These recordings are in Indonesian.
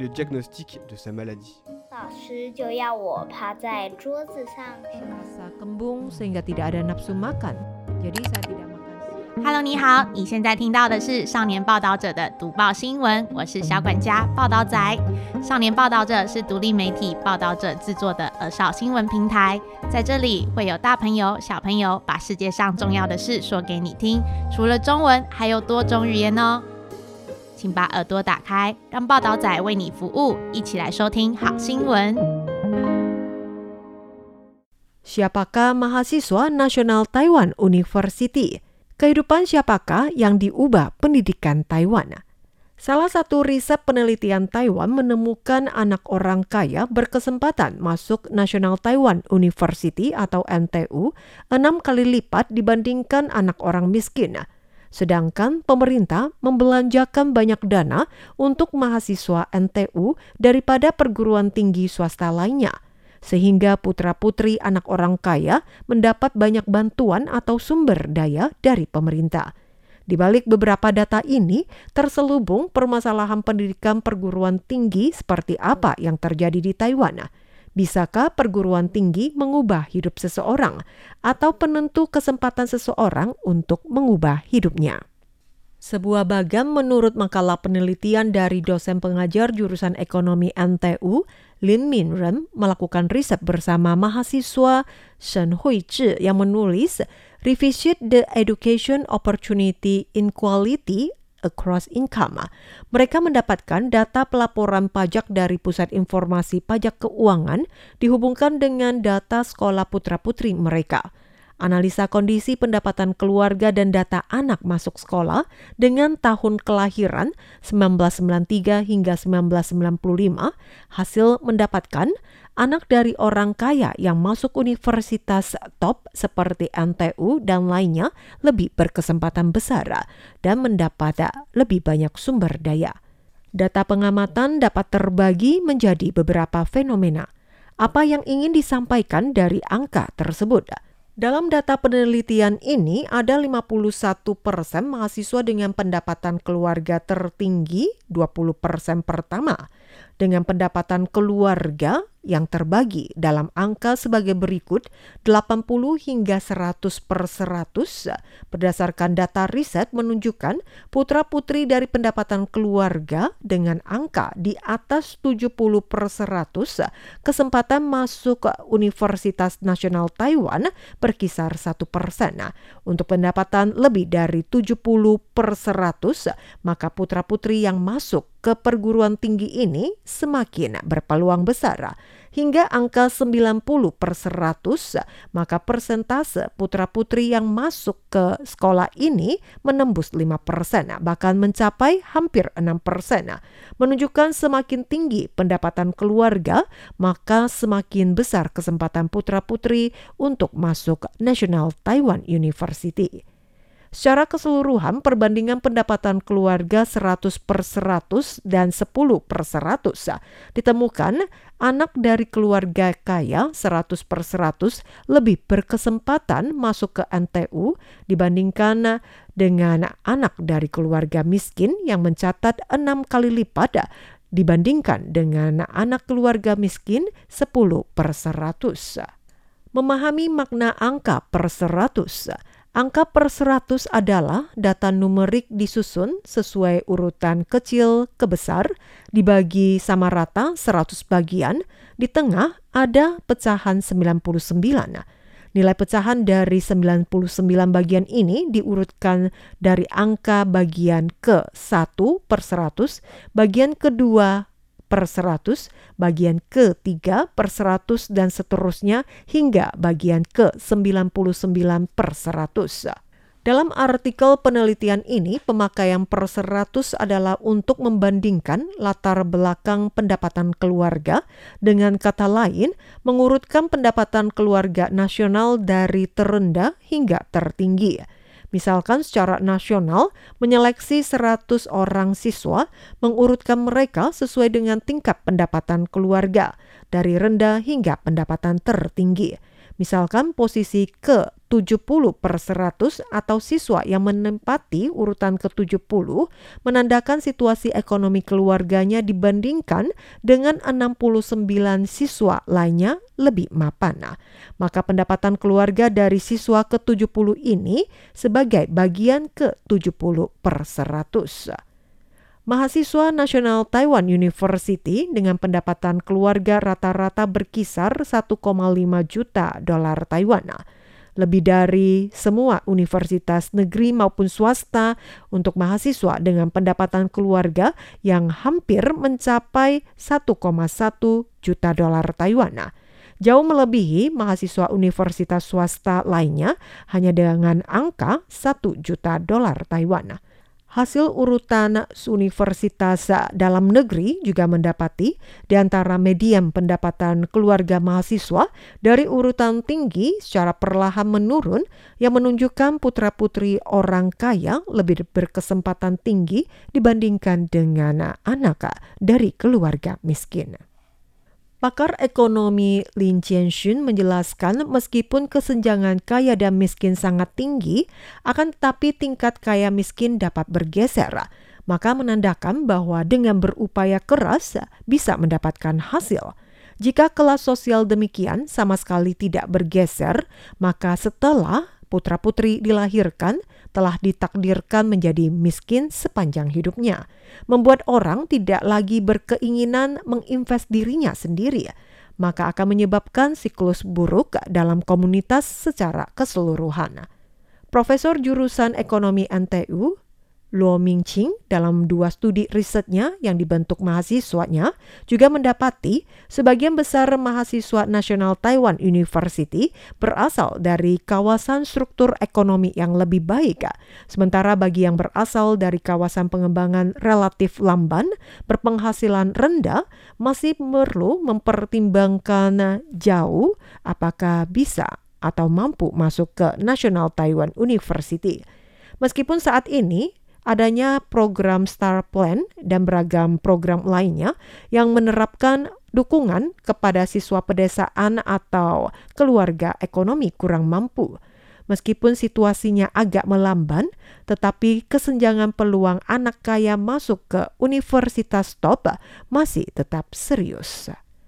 le diagnostic de sa maladie. 老師就要我趴在桌子上 Rasa kembung sehingga tidak ada nafsu makan. Jadi saya tidak makan siang. Hello， 你好，你現在聽到的是少年報導者的讀報新聞，我是小管家報導仔。少年報導者是獨立媒體報導者製作的兒少新聞平台，在這裡會有大朋友、小朋友把世界上重要的事說給你聽，除了中文，還有多種語言哦。請把耳朵打開，讓報導仔為你服務，一起來收聽好新聞。 Siapakah mahasiswa Nasional Taiwan University? Kehidupan siapakah yang diubah pendidikan Taiwan? Salah satu riset penelitian Taiwan menemukan anak orang kaya berkesempatan masuk National Taiwan University atau NTU 6 kali lipat dibandingkan anak orang miskin. Sedangkan pemerintah membelanjakan banyak dana untuk mahasiswa NTU daripada perguruan tinggi swasta lainnya, sehingga putra-putri anak orang kaya mendapat banyak bantuan atau sumber daya dari pemerintah. Di balik beberapa data ini, terselubung permasalahan pendidikan perguruan tinggi seperti apa yang terjadi di Taiwan. Bisakah perguruan tinggi mengubah hidup seseorang atau penentu kesempatan seseorang untuk mengubah hidupnya? Sebuah bagan menurut makalah penelitian dari dosen pengajar jurusan ekonomi NTU, Lin Minren, melakukan riset bersama mahasiswa Shen Huizhi yang menulis Revisit the Education Opportunity Inequality Across Income. Mereka mendapatkan data pelaporan pajak dari Pusat Informasi Pajak Keuangan dihubungkan dengan data sekolah putra-putri mereka. Analisa kondisi pendapatan keluarga dan data anak masuk sekolah dengan tahun kelahiran 1993 hingga 1995 hasil mendapatkan anak dari orang kaya yang masuk universitas top seperti NTU dan lainnya lebih berkesempatan besar dan mendapat lebih banyak sumber daya. Data pengamatan dapat terbagi menjadi beberapa fenomena. Apa yang ingin disampaikan dari angka tersebut? Dalam data penelitian ini, ada 51% mahasiswa dengan pendapatan keluarga tertinggi, 20% pertama, dengan pendapatan keluarga yang terbagi dalam angka sebagai berikut 80 hingga 100%. Berdasarkan data riset menunjukkan putra-putri dari pendapatan keluarga dengan angka di atas 70% kesempatan masuk Universitas Nasional Taiwan berkisar 1%. Untuk pendapatan lebih dari 70%, maka putra-putri yang masuk ke perguruan tinggi ini semakin berpeluang besar. Hingga angka 90%, maka persentase putra-putri yang masuk ke sekolah ini menembus 5%, bahkan mencapai hampir 6%. Menunjukkan semakin tinggi pendapatan keluarga, maka semakin besar kesempatan putra-putri untuk masuk National Taiwan University. Secara keseluruhan, perbandingan pendapatan keluarga 100/100 dan 10/100 ditemukan anak dari keluarga kaya 100/100 lebih berkesempatan masuk ke NTU dibandingkan dengan anak dari keluarga miskin yang mencatat 6 kali lipat dibandingkan dengan anak keluarga miskin 10/100. Memahami makna angka per 100. Angka per 100 adalah data numerik disusun sesuai urutan kecil ke besar, dibagi sama rata 100 bagian, di tengah ada pecahan 99. Nilai pecahan dari 99 bagian ini diurutkan dari angka bagian ke-1 per 100, bagian kedua per 100, bagian ke-3 per 100 dan seterusnya hingga bagian ke-99 per 100. Dalam artikel penelitian ini, pemakaian per 100 adalah untuk membandingkan latar belakang pendapatan keluarga, dengan kata lain, mengurutkan pendapatan keluarga nasional dari terendah hingga tertinggi. Misalkan secara nasional menyeleksi 100 orang siswa, mengurutkan mereka sesuai dengan tingkat pendapatan keluarga, dari rendah hingga pendapatan tertinggi. Misalkan posisi ke-70/100 atau siswa yang menempati urutan ke-70 menandakan situasi ekonomi keluarganya dibandingkan dengan 69 siswa lainnya lebih mapan. Maka pendapatan keluarga dari siswa ke-70 ini sebagai bagian ke-70/100. Mahasiswa National Taiwan University dengan pendapatan keluarga rata-rata berkisar 1,5 juta dolar Taiwan. Lebih dari semua universitas negeri maupun swasta untuk mahasiswa dengan pendapatan keluarga yang hampir mencapai 1,1 juta dolar Taiwan. Jauh melebihi mahasiswa universitas swasta lainnya hanya dengan angka 1 juta dolar Taiwan. Hasil urutan universitas dalam negeri juga mendapati di antara median pendapatan keluarga mahasiswa dari urutan tinggi secara perlahan menurun yang menunjukkan putra-putri orang kaya lebih berkesempatan tinggi dibandingkan dengan anak dari keluarga miskin. Pakar ekonomi Lin Jianxun menjelaskan meskipun kesenjangan kaya dan miskin sangat tinggi, akan tetapi tingkat kaya miskin dapat bergeser. Maka menandakan bahwa dengan berupaya keras bisa mendapatkan hasil. Jika kelas sosial demikian sama sekali tidak bergeser, maka setelah putra-putri dilahirkan, telah ditakdirkan menjadi miskin sepanjang hidupnya, membuat orang tidak lagi berkeinginan menginvest dirinya sendiri, maka akan menyebabkan siklus buruk dalam komunitas secara keseluruhan. Profesor jurusan ekonomi NTU, Luo Mingqing, dalam 2 studi risetnya yang dibentuk mahasiswanya, juga mendapati sebagian besar mahasiswa National Taiwan University berasal dari kawasan struktur ekonomi yang lebih baik, sementara bagi yang berasal dari kawasan pengembangan relatif lamban, berpenghasilan rendah, masih perlu mempertimbangkan jauh apakah bisa atau mampu masuk ke National Taiwan University. Meskipun saat ini adanya program Star Plan dan beragam program lainnya yang menerapkan dukungan kepada siswa pedesaan atau keluarga ekonomi kurang mampu. Meskipun situasinya agak melamban, tetapi kesenjangan peluang anak kaya masuk ke universitas top masih tetap serius.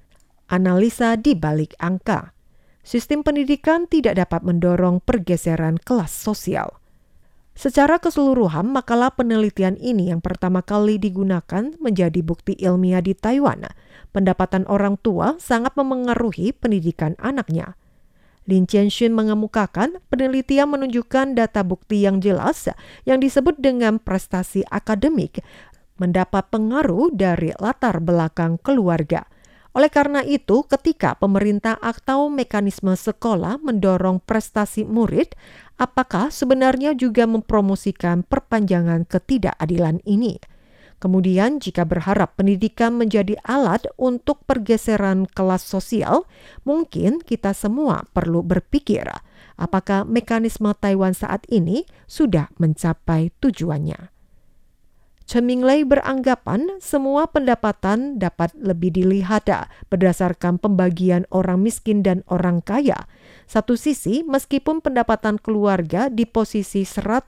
Analisa di balik angka. Sistem pendidikan tidak dapat mendorong pergeseran kelas sosial. Secara keseluruhan, makalah penelitian ini yang pertama kali digunakan menjadi bukti ilmiah di Taiwan. Pendapatan orang tua sangat memengaruhi pendidikan anaknya. Lin Jianxun mengemukakan penelitian menunjukkan data bukti yang jelas yang disebut dengan prestasi akademik mendapat pengaruh dari latar belakang keluarga. Oleh karena itu, ketika pemerintah atau mekanisme sekolah mendorong prestasi murid, apakah sebenarnya juga mempromosikan perpanjangan ketidakadilan ini? Kemudian, jika berharap pendidikan menjadi alat untuk pergeseran kelas sosial, mungkin kita semua perlu berpikir, apakah mekanisme Taiwan saat ini sudah mencapai tujuannya. Chen Minglei beranggapan semua pendapatan dapat lebih dilihat berdasarkan pembagian orang miskin dan orang kaya. Satu sisi, meskipun pendapatan keluarga di posisi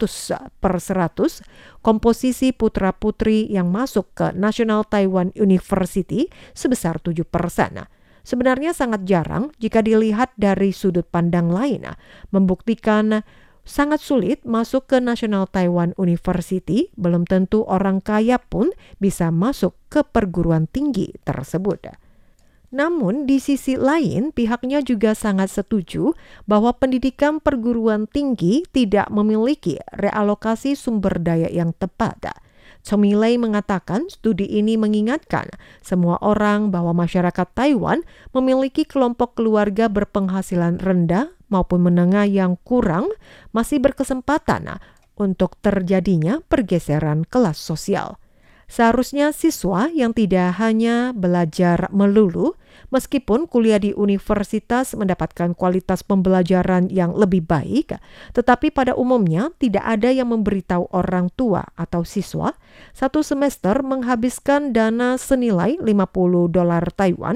100/100, komposisi putra-putri yang masuk ke National Taiwan University sebesar 7%. Sebenarnya sangat jarang jika dilihat dari sudut pandang lain, membuktikan sangat sulit masuk ke National Taiwan University, belum tentu orang kaya pun bisa masuk ke perguruan tinggi tersebut. Namun di sisi lain, pihaknya juga sangat setuju bahwa pendidikan perguruan tinggi tidak memiliki realokasi sumber daya yang tepat. Chen Minglei mengatakan studi ini mengingatkan semua orang bahwa masyarakat Taiwan memiliki kelompok keluarga berpenghasilan rendah maupun menengah yang kurang masih berkesempatan untuk terjadinya pergeseran kelas sosial. Seharusnya siswa yang tidak hanya belajar melulu, meskipun kuliah di universitas mendapatkan kualitas pembelajaran yang lebih baik, tetapi pada umumnya tidak ada yang memberitahu orang tua atau siswa satu semester menghabiskan dana senilai $50 Taiwan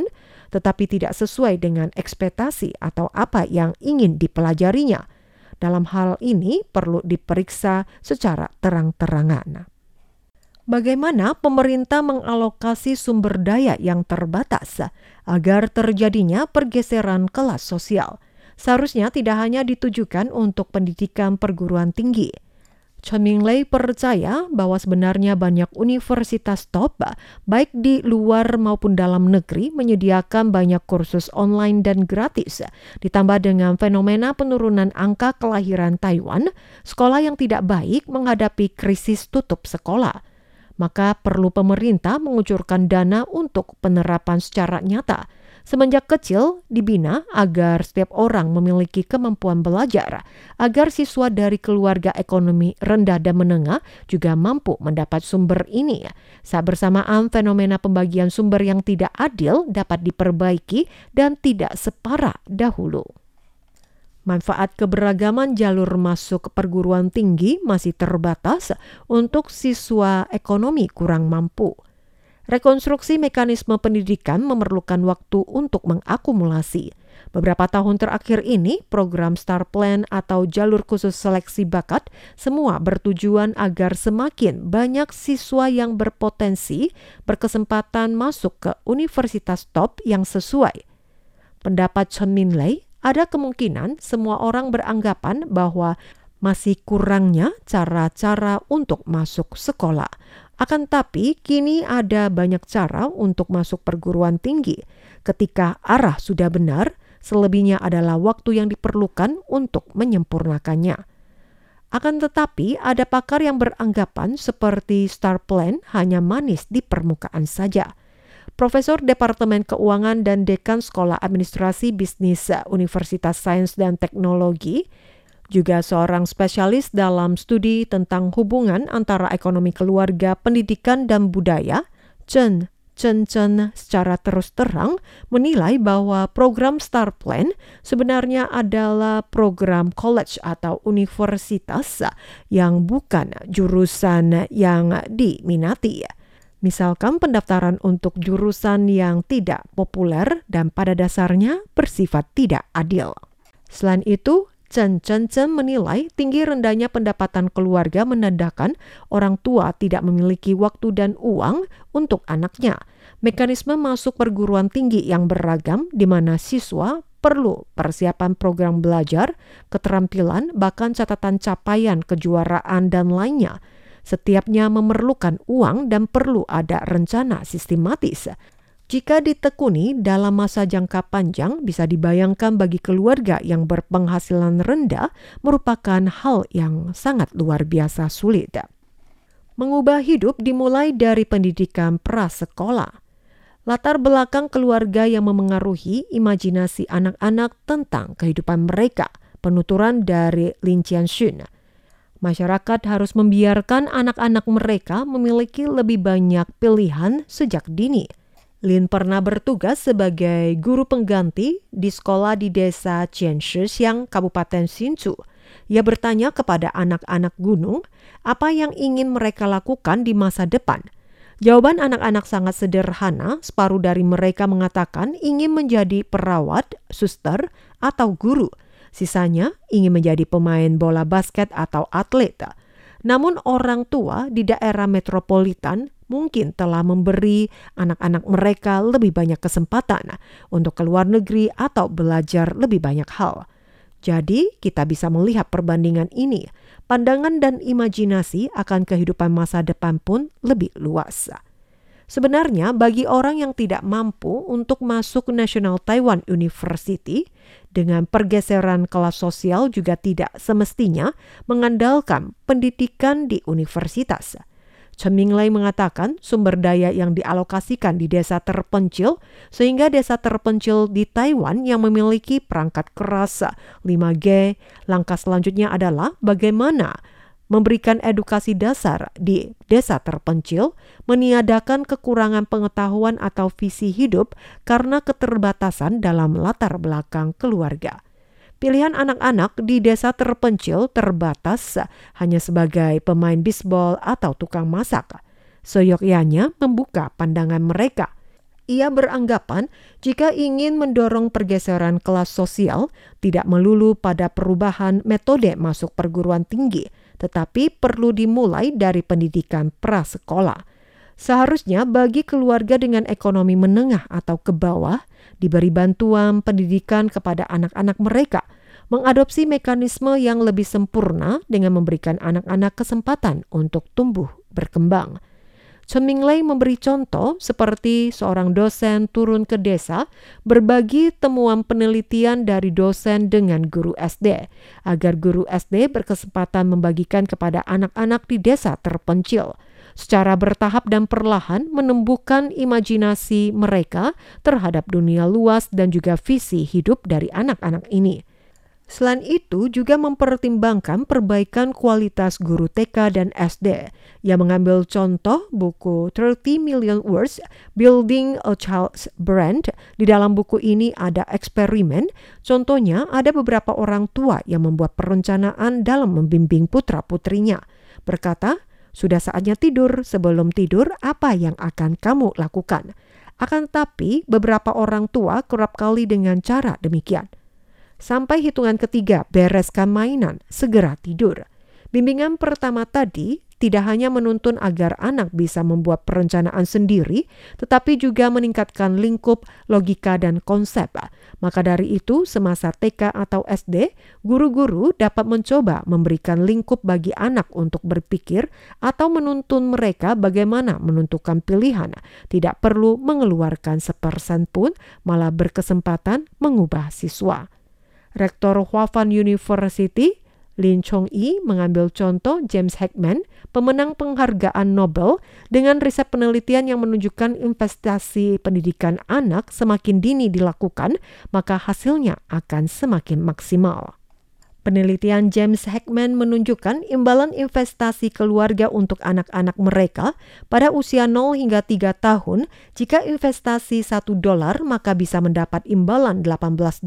tetapi tidak sesuai dengan ekspektasi atau apa yang ingin dipelajarinya. Dalam hal ini perlu diperiksa secara terang-terangan. Bagaimana pemerintah mengalokasi sumber daya yang terbatas agar terjadinya pergeseran kelas sosial? Seharusnya tidak hanya ditujukan untuk pendidikan perguruan tinggi. Chen Minglei percaya bahwa sebenarnya banyak universitas top, baik di luar maupun dalam negeri, menyediakan banyak kursus online dan gratis. Ditambah dengan fenomena penurunan angka kelahiran Taiwan, sekolah yang tidak baik menghadapi krisis tutup sekolah. Maka perlu pemerintah mengucurkan dana untuk penerapan secara nyata. Semenjak kecil dibina agar setiap orang memiliki kemampuan belajar, agar siswa dari keluarga ekonomi rendah dan menengah juga mampu mendapat sumber ini. Saat bersamaan fenomena pembagian sumber yang tidak adil dapat diperbaiki dan tidak separah dahulu. Manfaat keberagaman jalur masuk perguruan tinggi masih terbatas untuk siswa ekonomi kurang mampu. Rekonstruksi mekanisme pendidikan memerlukan waktu untuk mengakumulasi. Beberapa tahun terakhir ini, program Star Plan atau jalur khusus seleksi bakat semua bertujuan agar semakin banyak siswa yang berpotensi berkesempatan masuk ke universitas top yang sesuai. Pendapat Chen Minglei, ada kemungkinan semua orang beranggapan bahwa masih kurangnya cara-cara untuk masuk sekolah. Akan tapi, kini ada banyak cara untuk masuk perguruan tinggi. Ketika arah sudah benar, selebihnya adalah waktu yang diperlukan untuk menyempurnakannya. Akan tetapi, ada pakar yang beranggapan seperti Star Plan hanya manis di permukaan saja. Profesor Departemen Keuangan dan Dekan Sekolah Administrasi Bisnis Universitas Sains dan Teknologi, juga seorang spesialis dalam studi tentang hubungan antara ekonomi keluarga, pendidikan, dan budaya, Chen secara terus terang menilai bahwa program Star Plan sebenarnya adalah program college atau universitas yang bukan jurusan yang diminati. Misalkan pendaftaran untuk jurusan yang tidak populer dan pada dasarnya bersifat tidak adil. Selain itu, Chen menilai tinggi rendahnya pendapatan keluarga menandakan orang tua tidak memiliki waktu dan uang untuk anaknya. Mekanisme masuk perguruan tinggi yang beragam di mana siswa perlu persiapan program belajar, keterampilan, bahkan catatan capaian kejuaraan dan lainnya. Setiapnya memerlukan uang dan perlu ada rencana sistematis. Jika ditekuni dalam masa jangka panjang, bisa dibayangkan bagi keluarga yang berpenghasilan rendah merupakan hal yang sangat luar biasa sulit. Mengubah hidup dimulai dari pendidikan prasekolah. Latar belakang keluarga yang memengaruhi imajinasi anak-anak tentang kehidupan mereka. Penuturan dari Lin Jianxun. Masyarakat harus membiarkan anak-anak mereka memiliki lebih banyak pilihan sejak dini. Lin pernah bertugas sebagai guru pengganti di sekolah di desa Jianshisiang, Kabupaten Hsinchu. Ia bertanya kepada anak-anak gunung apa yang ingin mereka lakukan di masa depan. Jawaban anak-anak sangat sederhana, separuh dari mereka mengatakan ingin menjadi perawat, suster, atau guru. Sisanya ingin menjadi pemain bola basket atau atlet. Namun orang tua di daerah metropolitan mungkin telah memberi anak-anak mereka lebih banyak kesempatan untuk keluar negeri atau belajar lebih banyak hal. Jadi, kita bisa melihat perbandingan ini. Pandangan dan imajinasi akan kehidupan masa depan pun lebih luas. Sebenarnya, bagi orang yang tidak mampu untuk masuk National Taiwan University, dengan pergeseran kelas sosial juga tidak semestinya mengandalkan pendidikan di universitas. Chen Minglei mengatakan sumber daya yang dialokasikan di desa terpencil sehingga desa terpencil di Taiwan yang memiliki perangkat keras 5G, langkah selanjutnya adalah bagaimana memberikan edukasi dasar di desa terpencil, meniadakan kekurangan pengetahuan atau visi hidup karena keterbatasan dalam latar belakang keluarga. Pilihan anak-anak di desa terpencil terbatas hanya sebagai pemain bisbol atau tukang masak. Seyogyanya membuka pandangan mereka. Ia beranggapan jika ingin mendorong pergeseran kelas sosial, tidak melulu pada perubahan metode masuk perguruan tinggi, tetapi perlu dimulai dari pendidikan prasekolah. Seharusnya bagi keluarga dengan ekonomi menengah atau ke bawah, diberi bantuan pendidikan kepada anak-anak mereka, mengadopsi mekanisme yang lebih sempurna dengan memberikan anak-anak kesempatan untuk tumbuh berkembang. Chun Ming-lei memberi contoh seperti seorang dosen turun ke desa berbagi temuan penelitian dari dosen dengan guru SD, agar guru SD berkesempatan membagikan kepada anak-anak di desa terpencil, secara bertahap dan perlahan menumbuhkan imajinasi mereka terhadap dunia luas dan juga visi hidup dari anak-anak ini. Selain itu juga mempertimbangkan perbaikan kualitas guru TK dan SD yang mengambil contoh buku 30 Million Words Building a Child's Brand. Di dalam buku ini ada eksperimen, contohnya ada beberapa orang tua yang membuat perencanaan dalam membimbing putra-putrinya. Berkata, sudah saatnya tidur, sebelum tidur apa yang akan kamu lakukan? Akan tetapi beberapa orang tua kerap kali dengan cara demikian. Sampai hitungan ketiga, bereskan mainan, segera tidur. Bimbingan pertama tadi tidak hanya menuntun agar anak bisa membuat perencanaan sendiri, tetapi juga meningkatkan lingkup, logika, dan konsep. Maka dari itu, semasa TK atau SD, guru-guru dapat mencoba memberikan lingkup bagi anak untuk berpikir atau menuntun mereka bagaimana menentukan pilihan. Tidak perlu mengeluarkan sepersen pun, malah berkesempatan mengubah siswa. Rektor Hwafan University, Lin Chong-i, mengambil contoh James Heckman, pemenang penghargaan Nobel, dengan riset penelitian yang menunjukkan investasi pendidikan anak semakin dini dilakukan, maka hasilnya akan semakin maksimal. Penelitian James Heckman menunjukkan imbalan investasi keluarga untuk anak-anak mereka pada usia 0 hingga 3 tahun. Jika investasi $1, maka bisa mendapat imbalan $18.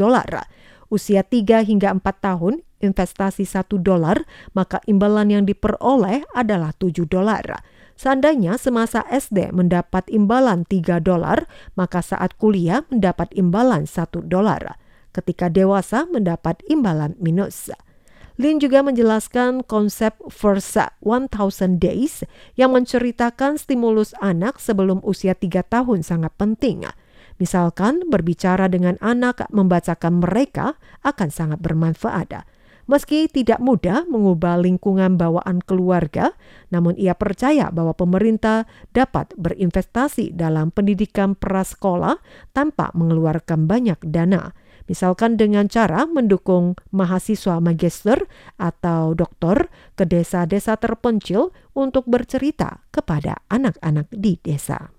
Usia 3 hingga 4 tahun, investasi $1, maka imbalan yang diperoleh adalah $7. Seandainya semasa SD mendapat imbalan $3, maka saat kuliah mendapat imbalan $1. Ketika dewasa mendapat imbalan minus. Lin juga menjelaskan konsep First 1000 Days yang menceritakan stimulus anak sebelum usia 3 tahun sangat penting. Misalkan berbicara dengan anak, membacakan mereka akan sangat bermanfaat. Meski tidak mudah mengubah lingkungan bawaan keluarga, namun ia percaya bahwa pemerintah dapat berinvestasi dalam pendidikan prasekolah tanpa mengeluarkan banyak dana. Misalkan dengan cara mendukung mahasiswa magister atau doktor ke desa-desa terpencil untuk bercerita kepada anak-anak di desa.